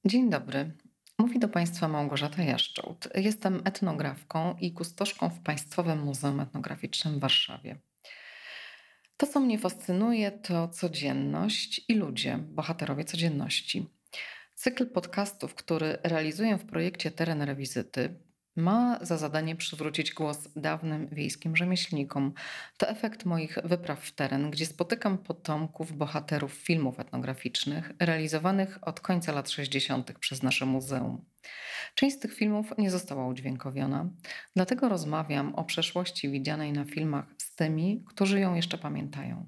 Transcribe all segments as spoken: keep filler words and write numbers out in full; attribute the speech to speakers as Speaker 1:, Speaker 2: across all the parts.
Speaker 1: Dzień dobry. Mówi do Państwa Małgorzata Jaszczołt. Jestem etnografką i kustoszką w Państwowym Muzeum Etnograficznym w Warszawie. To, co mnie fascynuje, to codzienność i ludzie, bohaterowie codzienności. Cykl podcastów, który realizuję w projekcie Teren Rewizyty, ma za zadanie przywrócić głos dawnym wiejskim rzemieślnikom. To efekt moich wypraw w teren, gdzie spotykam potomków bohaterów filmów etnograficznych realizowanych od końca lat sześćdziesiątych przez nasze muzeum. Część z tych filmów nie została udźwiękowiona, dlatego rozmawiam o przeszłości widzianej na filmach z tymi, którzy ją jeszcze pamiętają.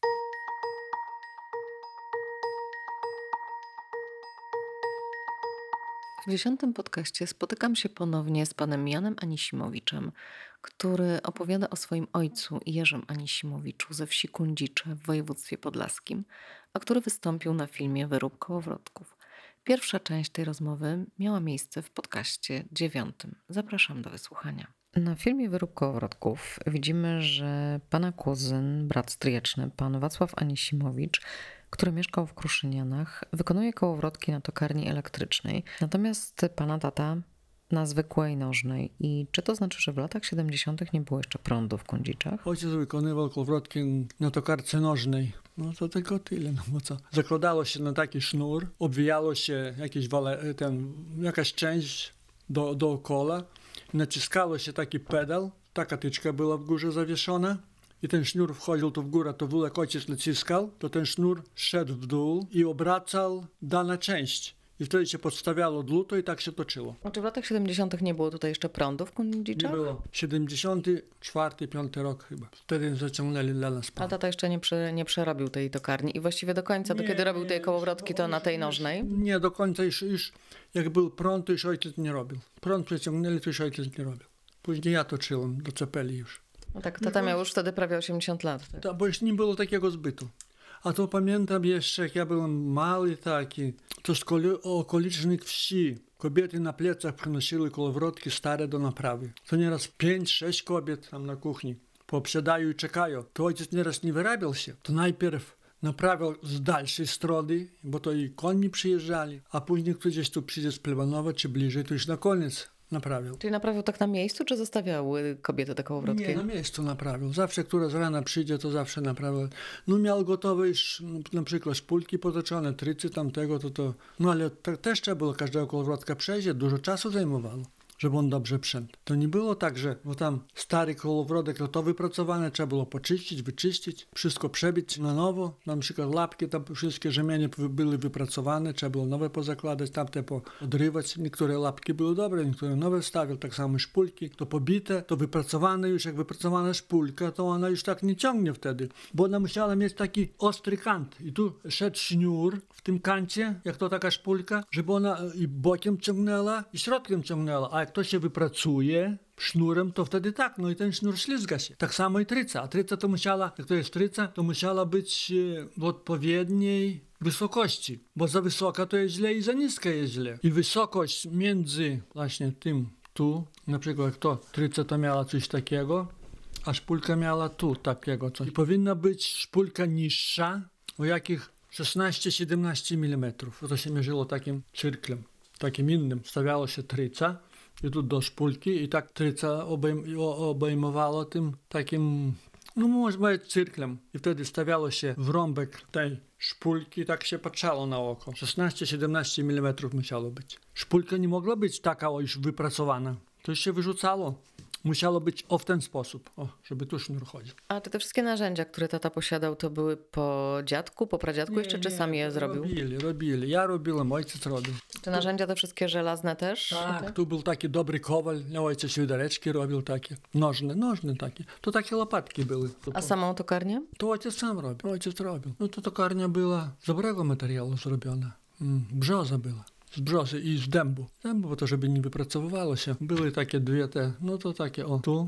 Speaker 1: W dziesiątym podcaście spotykam się ponownie z panem Janem Anisimowiczem, który opowiada o swoim ojcu Jerzym Anisimowiczu ze wsi Kundzicze w województwie podlaskim, a który wystąpił na filmie Wyrób kołowrotków. Pierwsza część tej rozmowy miała miejsce w podcaście dziewiątym. Zapraszam do wysłuchania. Na filmie Wyrób kołowrotków widzimy, że pana kuzyn, brat stryjeczny, pan Wacław Anisimowicz, który mieszkał w Kruszynianach, wykonuje kołowrotki na tokarni elektrycznej, natomiast pana tata na zwykłej nożnej. I czy to znaczy, że w latach siedemdziesiątych nie było jeszcze prądu w Kundziczach?
Speaker 2: Ojciec wykonywał kołowrotki na tokarce nożnej. No to tylko tyle, no bo co. Zakładało się na taki sznur, obwijało się jakieś wale, ten, jakaś część do, dookoła, naciskało się taki pedał, taka tyczka była w górze zawieszona. I ten sznur wchodził to w górę, to wół jak ojciec naciskał, to ten sznur szedł w dół i obracał dana część. I wtedy się podstawiało dłuto i tak się toczyło.
Speaker 1: Czy w latach siedemdziesiątych nie było tutaj jeszcze prądu w Kundziczach?
Speaker 2: Nie było. siedemdziesiąty czwarty, piąty rok chyba. Wtedy zaciągnęli dla nas prąd.
Speaker 1: A tata jeszcze nie, prze, nie przerobił tej tokarni i właściwie do końca, do
Speaker 2: Nie,
Speaker 1: kiedy robił
Speaker 2: nie,
Speaker 1: tej kołowrotki, to
Speaker 2: już-
Speaker 1: na tej
Speaker 2: już-
Speaker 1: nożnej?
Speaker 2: Nie, do końca już, już jak był prąd, to już ojciec nie robił. Prąd przeciągnęli, to już ojciec nie robił. Później ja toczyłem do cepeli już.
Speaker 1: No tak, tata miał już wtedy prawie osiemdziesiąt lat. Tak?
Speaker 2: Ta, bo już nie było takiego zbytu. A to pamiętam jeszcze, jak ja byłem mały taki, to z koli- okolicznych wsi kobiety na plecach przynosiły kołowrotki stare do naprawy. To nieraz pięć, sześć kobiet tam na kuchni poprzedają i czekają. To ojciec nieraz nie wyrabiał się. To najpierw naprawiał z dalszej strony, bo to i koni przyjeżdżali, a później ktoś gdzieś tu przyjdzie z Plebanowa czy bliżej, to już na koniec naprawiał.
Speaker 1: Czyli naprawił tak na miejscu, czy zostawiały kobiety te kołowrotki?
Speaker 2: Nie, na miejscu naprawił. Zawsze, która z rana przyjdzie, to zawsze naprawił. No miał gotowe już na przykład szpulki potoczone, trycy tamtego, to to... No ale te, też trzeba było każdego kołowrotka przejść, dużo czasu zajmowało, żeby on dobrze przędł. To nie było tak, że bo tam stary kołowrotek, to to wypracowane, trzeba było poczyścić, wyczyścić, wszystko przebić na nowo. Na przykład lapki, tam wszystkie rzemienie były wypracowane, trzeba było nowe pozakładać, tamte podrywać. Niektóre lapki były dobre, niektóre nowe stawiał, tak samo szpulki. To pobite, to wypracowane już, jak wypracowana szpulka, to ona już tak nie ciągnie wtedy, bo ona musiała mieć taki ostry kant. I tu szedł sznur w tym kancie, jak to taka szpulka, żeby ona i bokiem ciągnęła, i środkiem ciągnęła. A jak to się wypracuje sznurem, to wtedy tak, no i ten sznur ślizga się. Tak samo i tryca. A tryca to musiała, jak to jest tryca, to musiała być e, w odpowiedniej wysokości, bo za wysoka to jest źle i za niska jest źle. I wysokość między właśnie tym tu, na przykład jak to tryca to miała coś takiego, a szpulka miała tu takiego coś. I powinna być szpulka niższa, o jakich szesnaście siedemnaście milimetrów. To się mierzyło takim cyrklem, takim innym. Stawiało się tryca i tu do szpulki i tak tryca obejm- obejmowało tym takim, no może być cyrklem. I wtedy stawiało się w rąbek tej szpulki i tak się patrzało na oko. szesnaście siedemnaście milimetrów musiało być. Szpulka nie mogła być taka o, już wypracowana. To już się wyrzucało. Musiało być o w ten sposób, o, żeby tu sznur chodził.
Speaker 1: A czy te wszystkie narzędzia, które tata posiadał, to były po dziadku, po pradziadku jeszcze, czy sam je zrobił?
Speaker 2: Robili, robili. Ja robiłem, ojciec robił.
Speaker 1: Te narzędzia te wszystkie żelazne też?
Speaker 2: Tak, tu był taki dobry kowal, ojciec świdereczki robił takie, nożne, nożne takie. To takie łopatki były.
Speaker 1: A samą tokarnię?
Speaker 2: To ojciec sam robił, ojciec robił. No to tokarnia była z dobrego materiału zrobiona, mm, brzoza była. Z brzozy i z dębu. Dębu, bo to żeby nie wypracowywało się. Były takie dwie te, no to takie o tu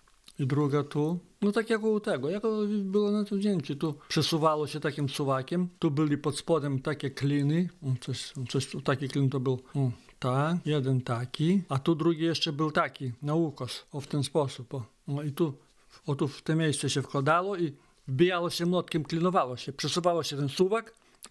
Speaker 2: i druga tu. No tak jak u tego, jak było na tym zdjęciu. Tu przesuwało się takim suwakiem. Tu byli pod spodem takie kliny. O, coś, coś, taki klin to był o, tak, jeden taki. A tu drugi jeszcze był taki, na ukos. O, w ten sposób. O, no i tu, o, tu w te miejsce się wkładało i wbijało się młotkiem, klinowało się. Przesuwało się ten suwak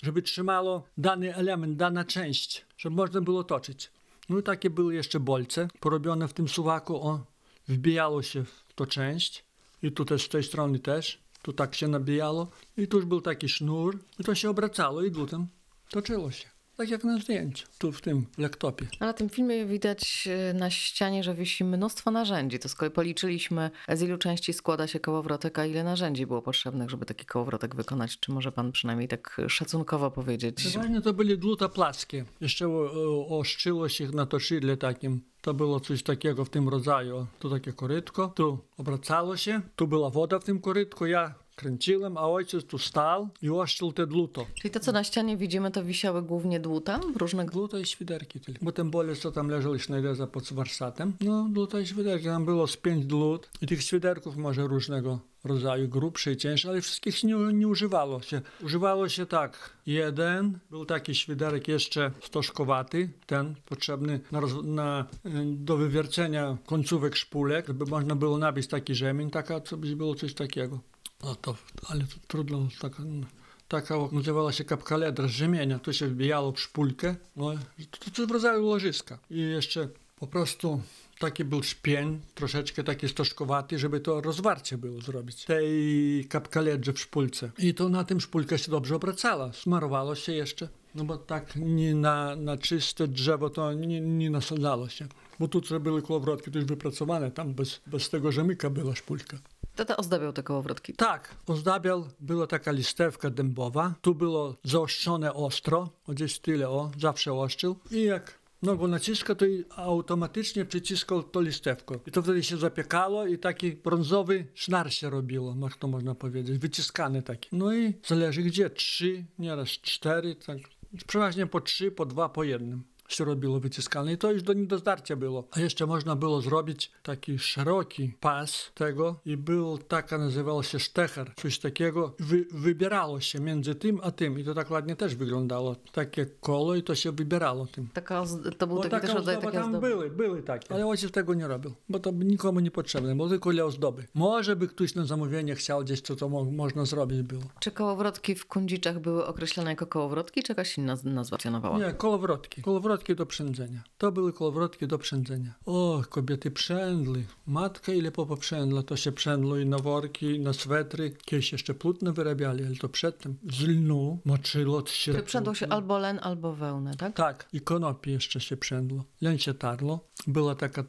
Speaker 2: żeby trzymało dany element, dana część, żeby można było toczyć. No i takie były jeszcze bolce porobione w tym suwaku, o, wbijało się w tą część i tu też z tej strony też, tu tak się nabijało i tu już był taki sznur i to się obracało i dłutem toczyło się. Tak jak na zdjęciu, tu w tym laptopie.
Speaker 1: A na tym filmie widać na ścianie, że wisi mnóstwo narzędzi. To z kolei policzyliśmy, z ilu części składa się kołowrotek, a ile narzędzi było potrzebnych, żeby taki kołowrotek wykonać. Czy może pan przynajmniej tak szacunkowo powiedzieć?
Speaker 2: Przeważnie to byli dłuta płaskie. Jeszcze oszczyło się na toczydle takim. To było coś takiego w tym rodzaju. Tu takie korytko, tu obracało się, tu była woda w tym korytku. Ja kręciłem, a ojciec tu stał i oszczył te dłuto.
Speaker 1: Czyli to, co na ścianie widzimy, to wisiały głównie dłuta? Różne...
Speaker 2: Dłuto i świderki tylko. Bo ten bolec, co tam leżał Sznejdeza pod warsztatem, no dłuto i świderki. Tam było z pięć dłut i tych świderków może różnego rodzaju, grubsze i cięższe, ale wszystkich nie, nie używało się. Używało się tak, jeden, był taki świderek jeszcze stożkowaty, ten potrzebny na, roz, na, do wywiercenia końcówek szpulek, żeby można było nabić taki rzemień, taka, co by było coś takiego. No to, ale to trudno, taka, taka nazywała się kapkaledra z rzemienia, to się wbijało w szpulkę, no, to, to w rodzaju łożyska. I jeszcze po prostu taki był szpień, troszeczkę taki stożkowaty, żeby to rozwarcie było zrobić, tej kapkaledrze w szpulce. I to na tym szpulka się dobrze obracała, smarowało się jeszcze, no bo tak nie na, na czyste drzewo to nie, nie nasadzało się. Bo tu co były kołowrotki, to już wypracowane, tam bez, bez tego rzemyka była szpulka.
Speaker 1: Tata ozdabiał te kołowrotki?
Speaker 2: Tak, ozdabiał, była taka listewka dębowa, tu było zaostrzone ostro, o gdzieś tyle, o, zawsze ostrzył i jak nogą naciska, to i automatycznie przyciskał to listewko. I to wtedy się zapiekało i taki brązowy sznar się robiło, jak to można powiedzieć, wyciskany taki. No i zależy gdzie, trzy, nieraz cztery, tak, przeważnie po trzy, po dwa, po jednym się robiło wyciskane i to już do nie do zdarcia było. A jeszcze można było zrobić taki szeroki pas tego i był taka, nazywał się sztecher, coś takiego. Wy, wybierało się między tym a tym i to tak ładnie też wyglądało. Takie koło i to się wybierało tym.
Speaker 1: Taka, to był
Speaker 2: bo
Speaker 1: taki
Speaker 2: taka
Speaker 1: też rodzaj
Speaker 2: ozdoba
Speaker 1: takiej
Speaker 2: tam
Speaker 1: ozdoby.
Speaker 2: były, były takie, ale ojciec tego nie robił, bo to nikomu nie potrzebne, bo tylko dla ozdoby. Może by ktoś na zamówienie chciał gdzieś, co to mo można zrobić było.
Speaker 1: Czy kołowrotki w Kundziczach były określone jako kołowrotki, czy jakaś inna nazwa funkcjonowała?
Speaker 2: Nie, kołowrotki. Kołowrotki do przędzenia. To były kołowrotki do przędzenia. O, kobiety przędli. Matka ile poprzędla, to się przędło i na worki, i na swetry. Kiedyś jeszcze płótno wyrabiali, ale to przedtem. Z lnu moczyło się.
Speaker 1: Czy przędło się albo len, albo wełnę, tak?
Speaker 2: Tak, i konopi jeszcze się przędło. Len się tarło. Była taka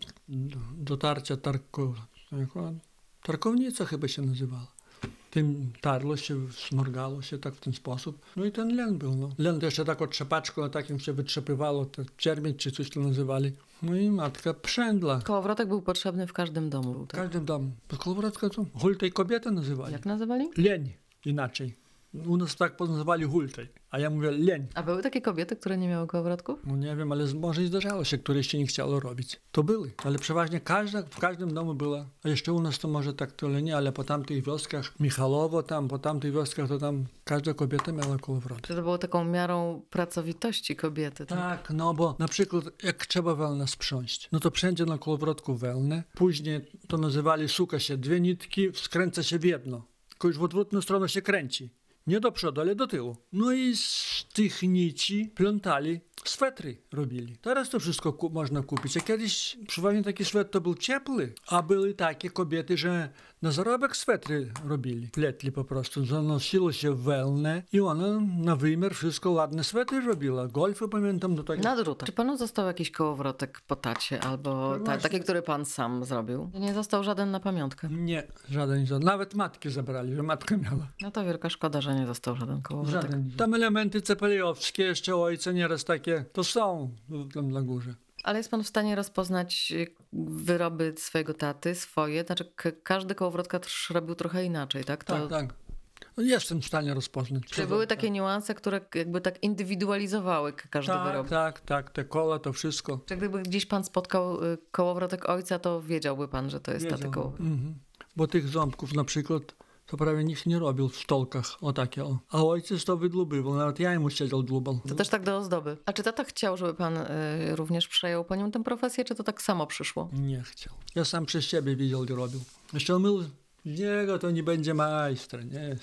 Speaker 2: do tarcia tarko... tarkownica chyba się nazywała. Tym tarło się, smorgało się tak w ten sposób. No i ten len był. No. Len to jeszcze taką trzepaczką, na takim się wytrzepywało, te czermień czy coś to nazywali. No i matka przędla.
Speaker 1: Kołowrotek był potrzebny w każdym domu.
Speaker 2: W
Speaker 1: Tak?
Speaker 2: każdym domu. Kołowrotka to hultej kobietę nazywali.
Speaker 1: Jak nazywali?
Speaker 2: Leń inaczej. U nas tak nazywali hultej, a ja mówię leń.
Speaker 1: A były takie kobiety, które nie miały kołowrotków?
Speaker 2: No nie wiem, ale może i zdarzało się, które się nie chciało robić. To były, ale przeważnie każda, w każdym domu była. A jeszcze u nas to może tak tyle nie, ale po tamtych wioskach, Michalowo tam, po tamtych wioskach to tam każda kobieta miała kołowrotek.
Speaker 1: Czy to było taką miarą pracowitości kobiety? Tak?
Speaker 2: Tak, no bo na przykład jak trzeba wełnę sprząść, no to wszędzie na kołowrotku wełnę, później to nazywali, suka się dwie nitki, skręca się w jedno, tylko już w odwrotną stronę się kręci. Nie do przodu, ale do tyłu. No i z tych nici plątali, swetry robili. Teraz to wszystko ku można kupić. A kiedyś przeważnie taki swetr to był ciepły, a były takie kobiety, że na zarobek swetry robili. Pletli po prostu, zanosiło się wełnę i ona na wymiar wszystko ładne swetry robiła. Golfy pamiętam do tego.
Speaker 1: Na drutach. Czy panu został jakiś kołowrotek po tacie albo
Speaker 2: No
Speaker 1: ta, taki, który pan sam zrobił? Nie został żaden na pamiątkę?
Speaker 2: Nie, żaden, żaden. Nawet matki zabrali, że matka miała.
Speaker 1: No to wielka szkoda, że nie został żaden kołowrotek.
Speaker 2: Żaden. Tam elementy cepeliowskie, jeszcze ojca nieraz takie, to są tam na górze.
Speaker 1: Ale jest pan w stanie rozpoznać wyroby swojego taty, swoje? Znaczy k- każdy kołowrotka też robił trochę inaczej, tak? To...
Speaker 2: Tak, tak. No jestem w stanie rozpoznać.
Speaker 1: Czy były takie niuanse, które jakby tak indywidualizowały każdy
Speaker 2: tak,
Speaker 1: wyrób?
Speaker 2: Tak, tak, te koła, to wszystko.
Speaker 1: Czy gdyby gdzieś pan spotkał y, kołowrotek ojca, to wiedziałby pan, że to jest taty kołowrotek?
Speaker 2: Mhm. Bo tych ząbków na przykład to prawie nikt nie robił w stolkach, o takie o. A ojciec to wydlubywał, nawet ja mu siedział dłubał.
Speaker 1: To też tak do ozdoby. A czy tata chciał, żeby pan y, również przejął po nim tę profesję, czy to tak samo przyszło?
Speaker 2: Nie chciał. Ja sam przez siebie widział, gdzie robił. Jeszcze on mył Z niego to nie będzie majstra, nie?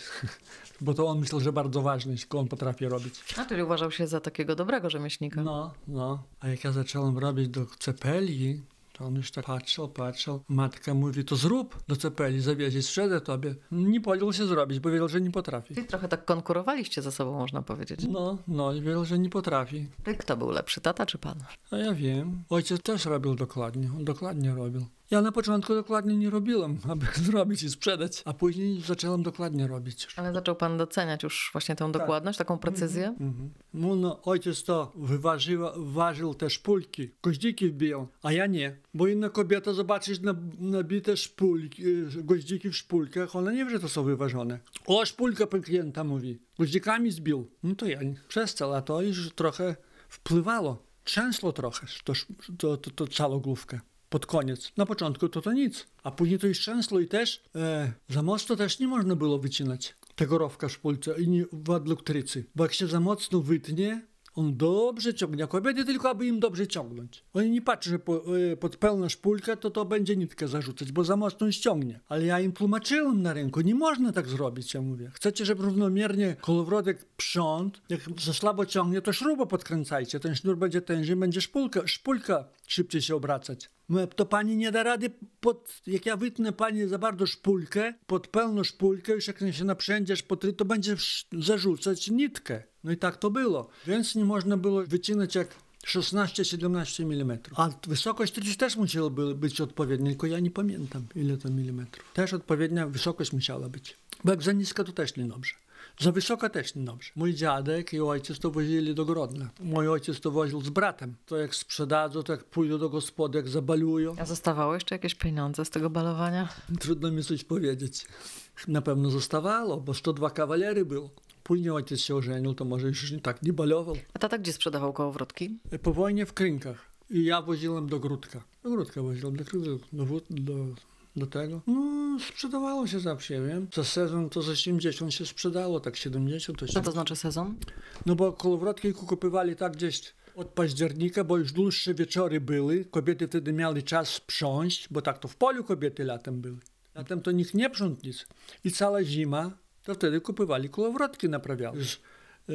Speaker 2: Bo to on myślał, że bardzo ważne, tylko on potrafi robić.
Speaker 1: A, czyli uważał się za takiego dobrego rzemieślnika.
Speaker 2: No, no. A jak ja zacząłem robić do cepeli, to on już tak patrzył, patrzył. Matka mówi, to zrób do cepeli, zawieźć, sprzedaj tobie. Nie podjął się zrobić, bo wiedział, że nie potrafi.
Speaker 1: Czyli trochę tak konkurowaliście ze sobą, można powiedzieć.
Speaker 2: No, no, i wiedział, że nie potrafi.
Speaker 1: I kto był lepszy, tata czy pan?
Speaker 2: A ja wiem. Ojciec też robił dokładnie, on dokładnie robił. Ja na początku dokładnie nie robiłem, aby zrobić i sprzedać, a później zacząłem dokładnie robić.
Speaker 1: Ale zaczął pan doceniać już właśnie tę dokładność, taką precyzję?
Speaker 2: Mhm. No, no, ojciec to wyważył, ważył te szpulki, goździki wbijał, a ja nie. Bo inna kobieta, zobaczysz na, nabite szpulki, goździki w szpulkach, ona nie wie, że to są wyważone. O, szpulka klienta mówi, goździkami zbił. No to ja nie. Przestał, a to już trochę wpływało. Trzęsło trochę to, to, to, to całą główkę. Pod koniec. Na początku to to nic, a później to już trzęsło i też e, za mocno też nie można było wycinać tego rowka w szpulce i nie w adluktrycy, bo jak się za mocno wytnie, on dobrze ciągnie, a kobiety tylko, aby im dobrze ciągnąć. Oni nie patrzą, że po, e, pod pełną szpulkę to to będzie nitkę zarzucać, bo za mocno ściągnie. Ale ja im tłumaczyłem na rynku, nie można tak zrobić, ja mówię. Chcecie, żeby równomiernie kołowrotek prząd, jak za słabo ciągnie, to śrubę podkręcajcie, ten sznur będzie tężej, będzie szpulka, szpulka szybciej się obracać. To pani nie da rady, pod, jak ja wytnę pani za bardzo szpulkę, pod pełną szpulkę, już jak się naprzędziesz, potry, to będzie zarzucać nitkę. No i tak to było. Więc nie można było wycinać jak szesnaście siedemnaście milimetrów. A wysokość to też musiała być odpowiednia, tylko ja nie pamiętam, ile to milimetrów. Też odpowiednia wysokość musiała być. Bo jak za niska, to też niedobrze. Za wysoka też niedobrze. Mój dziadek i ojciec to wozili do Grodna. Mój ojciec to woził z bratem. To jak sprzedadzą, to jak pójdą do gospody, jak zabalują.
Speaker 1: A zostawało jeszcze jakieś pieniądze z tego balowania?
Speaker 2: Trudno mi coś powiedzieć. Na pewno zostawało, bo sto dwa kawalery było. Później ojciec się ożenił, to może już tak nie balował.
Speaker 1: A tata gdzie sprzedawał kołowrotki?
Speaker 2: Po wojnie w Krynkach. I ja woziłem do Gródka. Do Gródka woziłem, do, do, do, do tego. No, sprzedawało się zawsze, wiem. Za sezon to za osiemdziesiąt się sprzedało, tak siedemdziesiąt. To
Speaker 1: Co to znaczy sezon?
Speaker 2: No bo kołowrotki kupowali tak gdzieś od października, bo już dłuższe wieczory były. Kobiety wtedy miały czas sprząść, bo tak to w polu kobiety latem były. Latem to nikt nie przątł nic. I cała zima, to wtedy kupowali kołowrotki, naprawiały. Już, e,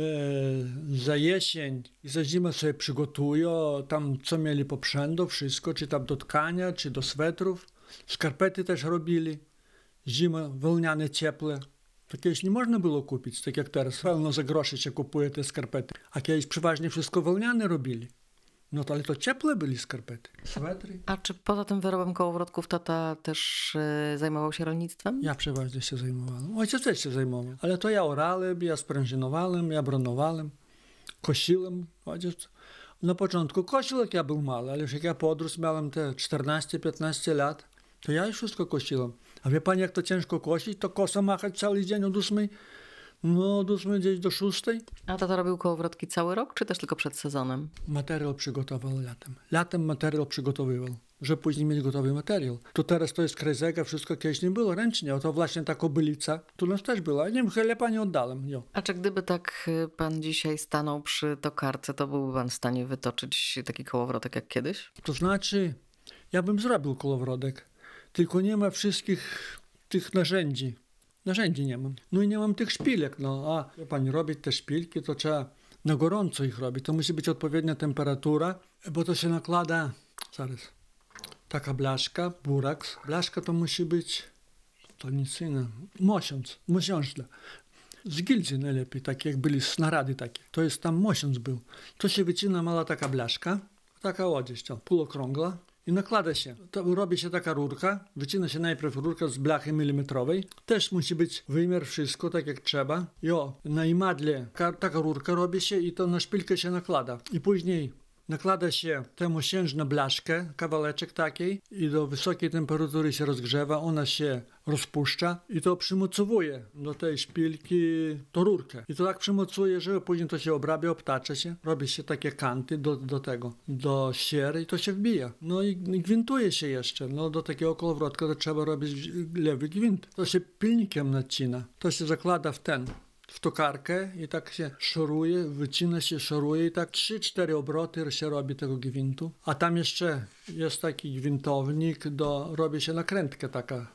Speaker 2: za jesień i za zimę sobie przygotują, tam co mieli poprzędu, wszystko, czy tam do tkania, czy do swetrów. Skarpety też robili. Zima, wełniane, ciepłe. To kiedyś nie można było kupić, tak jak teraz. Pełno za grosze się kupuje te skarpety. A kiedyś przeważnie wszystko wełniane robili. No to ale to ciepłe byli skarpety. Swetry.
Speaker 1: A czy poza tym wyrobem kołowrotków tata też y, zajmował się rolnictwem?
Speaker 2: Ja przeważnie się zajmowałem. Ojciec też się zajmował. Ale to ja orałem, ja sprężynowałem, ja bronowałem, kosiłem. Ojciec na początku kosił, jak ja był mały, ale już jak ja podrósł, miałem te czternaście piętnaście lat, to ja już wszystko kosiłem. A wie pani, jak to ciężko kosić, to kosa machać cały dzień od ósmej, no od ósmej gdzieś do szóstej.
Speaker 1: A tata robił kołowrotki cały rok, czy też tylko przed sezonem?
Speaker 2: Materiał przygotował latem. Latem materiał przygotowywał, żeby później mieć gotowy materiał. To teraz to jest krezega, wszystko kiedyś nie było ręcznie. A to właśnie ta kobylica, tu nas też była. Nie wiem, chyba pani oddałem. Jo.
Speaker 1: A czy gdyby tak pan dzisiaj stanął przy tokarce, to byłby pan w stanie wytoczyć taki kołowrotek jak kiedyś?
Speaker 2: To znaczy, ja bym zrobił kołowrotek, tylko nie ma wszystkich tych narzędzi. Narzędzi nie mam. No i nie mam tych szpilek. No a wie pani, robić te szpilki, to trzeba na gorąco ich robić. To musi być odpowiednia temperatura, bo to się nakłada, zaraz, taka blaszka, buraks. Blaszka to musi być, to nic innego, mosiąc, mosiążna. Z gildii najlepiej, takie jak byli snarady takie. To jest tam mosiąc był. To się wycina mała taka blaszka, taka odzież, półokrągła. I nakłada się, to robi się taka rurka, wycina się najpierw rurka z blachy milimetrowej, też musi być wymiar wszystko tak jak trzeba. I o, na imadle taka rurka robi się i to na szpilkę się nakłada. I później nakłada się tę mosiężną blaszkę, kawałeczek takiej i do wysokiej temperatury się rozgrzewa, ona się rozpuszcza i to przymocowuje do tej szpilki tą rurkę. I to tak przymocuje, że później to się obrabia, obtacza się, robi się takie kanty do, do tego, do siery i to się wbija. No i, i gwintuje się jeszcze. No do takiego kołowrotka to trzeba robić lewy gwint. To się pilnikiem nacina. To się zakłada w ten, w tokarkę i tak się szoruje, wycina się, szoruje i tak trzy cztery obroty się robi tego gwintu. A tam jeszcze jest taki gwintownik, do, robi się nakrętka taka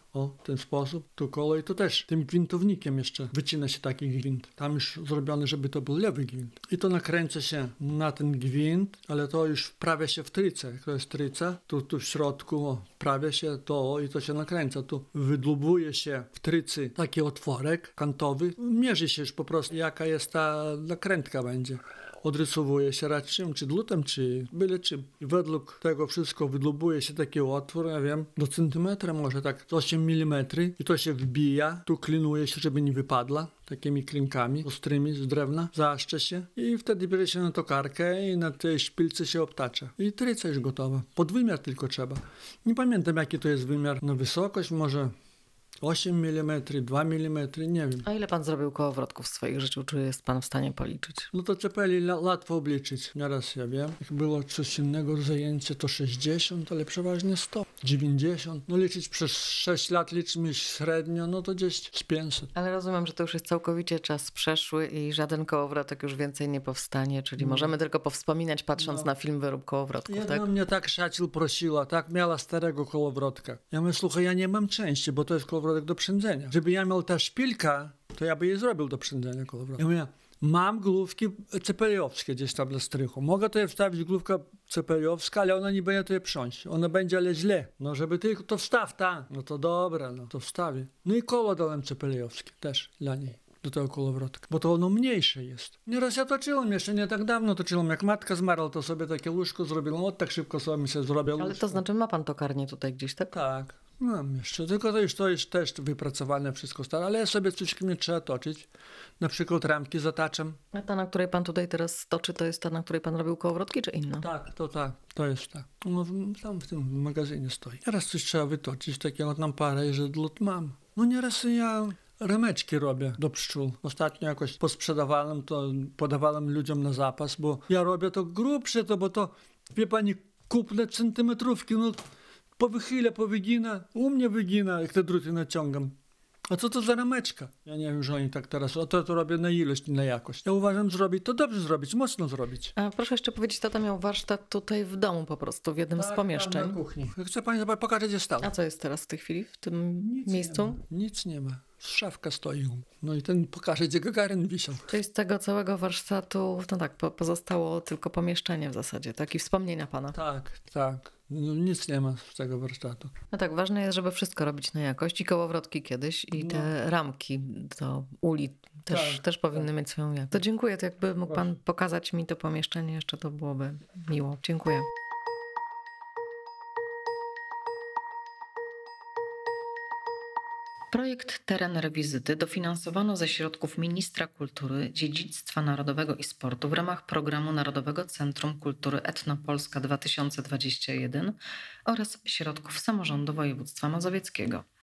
Speaker 2: O, w ten sposób, tu koło i to też tym gwintownikiem jeszcze wycina się taki gwint. Tam już zrobiony, żeby to był lewy gwint. I to nakręca się na ten gwint, ale to już wprawia się w trycę. Jak to jest tryca, tu, tu w środku o, wprawia się to i to się nakręca. Tu wydłubuje się w trycy taki otworek kantowy. Mierzy się już po prostu, jaka jest ta nakrętka będzie. Odrysowuje się raczej, czy dlutem, czy byle czym. I według tego wszystko wydlubuje się taki otwór, ja wiem, do centymetra może tak, osiem milimetrów i to się wbija, tu klinuje się, żeby nie wypadła, takimi klinkami ostrymi z drewna, zaszcze się i wtedy bierze się na tokarkę i na tej szpilce się obtacza. I tryca już gotowa. Podwymiar tylko trzeba. Nie pamiętam, jaki to jest wymiar na wysokość, może osiem milimetrów, dwa milimetry, nie wiem.
Speaker 1: A ile pan zrobił kołowrotków w swoim życiu? Czy jest pan w stanie policzyć?
Speaker 2: No to cepeli łatwo obliczyć. Nieraz ja wiem. Jak było coś innego zajęcie, to sześćdziesiąt, ale przeważnie sto, dziewięćdziesiąt. No liczyć przez sześć lat liczymy średnio, no to gdzieś z pięćset.
Speaker 1: Ale rozumiem, że to już jest całkowicie czas przeszły i żaden kołowrotek już więcej nie powstanie, czyli no. możemy tylko powspominać, patrząc no. na film Wyrób kołowrotków,
Speaker 2: Jedna
Speaker 1: tak?
Speaker 2: mnie tak szacił prosiła, tak miała starego kołowrotka. Ja mówię, słuchaj, ja nie mam części, bo to jest kołowrotek do przędzenia. Żeby ja miał ta szpilka, to ja by jej zrobił do przędzenia kołowrotka. Ja mówię, mam główki cepeliowskie gdzieś tam dla strychu. Mogę to wstawić główka cepeliowska, ale ona nie będzie to je prząść. Ona będzie, ale źle. No żeby tylko to wstaw, ta. No to dobra, no to wstawię. No i koło dałem cepeliowskie też dla niej. Do tego kołowrotka, bo to ono mniejsze jest. Nieraz ja toczyłem, jeszcze nie tak dawno toczyłem, jak matka zmarła, to sobie takie łóżko zrobiłem, od tak szybko sobie się zrobił łóżko.
Speaker 1: Ale to znaczy ma pan tokarnię tutaj gdzieś, tak?
Speaker 2: Tak. Mam jeszcze, tylko to już to jest też wypracowane wszystko stare, ale ja sobie coś nie trzeba toczyć. Na przykład ramki zataczam.
Speaker 1: A ta, na której pan tutaj teraz toczy, to jest ta, na której pan robił kołowrotki, czy inna?
Speaker 2: Tak, to tak, to jest tak. No, tam w tym magazynie stoi. Nieraz coś trzeba wytoczyć, takiego tam parę, że dlut mam. No nieraz ja rameczki robię do pszczół. Ostatnio jakoś posprzedawałem to, podawałem ludziom na zapas, bo ja robię to grubsze, to bo to, wie pani, kupne centymetrówki, no po wychyle, po wygina, u mnie wygina, jak te druty naciągam. A co to za rameczka? Ja nie wiem, że oni tak teraz, a to, to robię na ilość, nie na jakość. Ja uważam, zrobić to dobrze zrobić, mocno zrobić.
Speaker 1: A proszę jeszcze powiedzieć, tata miał warsztat tutaj w domu po prostu, w jednym
Speaker 2: tak,
Speaker 1: z pomieszczeń.
Speaker 2: Tam na kuchni. Chcę pani pokazać, gdzie stał.
Speaker 1: A co jest teraz w tej chwili, w tym
Speaker 2: Nic
Speaker 1: miejscu?
Speaker 2: Nie ma. Nic nie ma. Szafka stoi. No i ten pokaże, gdzie Gagarin wisiał.
Speaker 1: Czyli z tego całego warsztatu, no tak, po, pozostało tylko pomieszczenie w zasadzie, tak? I wspomnienia pana.
Speaker 2: Tak, tak. No, nic nie ma z tego warsztatu.
Speaker 1: No tak, ważne jest, żeby wszystko robić na jakość i kołowrotki kiedyś i
Speaker 2: No.
Speaker 1: te ramki do uli też,
Speaker 2: Tak,
Speaker 1: też powinny
Speaker 2: tak.
Speaker 1: mieć swoją jakość. To dziękuję, to jakby mógł pan pokazać mi to pomieszczenie jeszcze, to byłoby miło. Dziękuję. Projekt Teren Rewizyty dofinansowano ze środków Ministra Kultury, Dziedzictwa Narodowego i Sportu w ramach programu Narodowego Centrum Kultury Etnopolska dwa tysiące dwudziesty pierwszy oraz środków samorządu województwa mazowieckiego.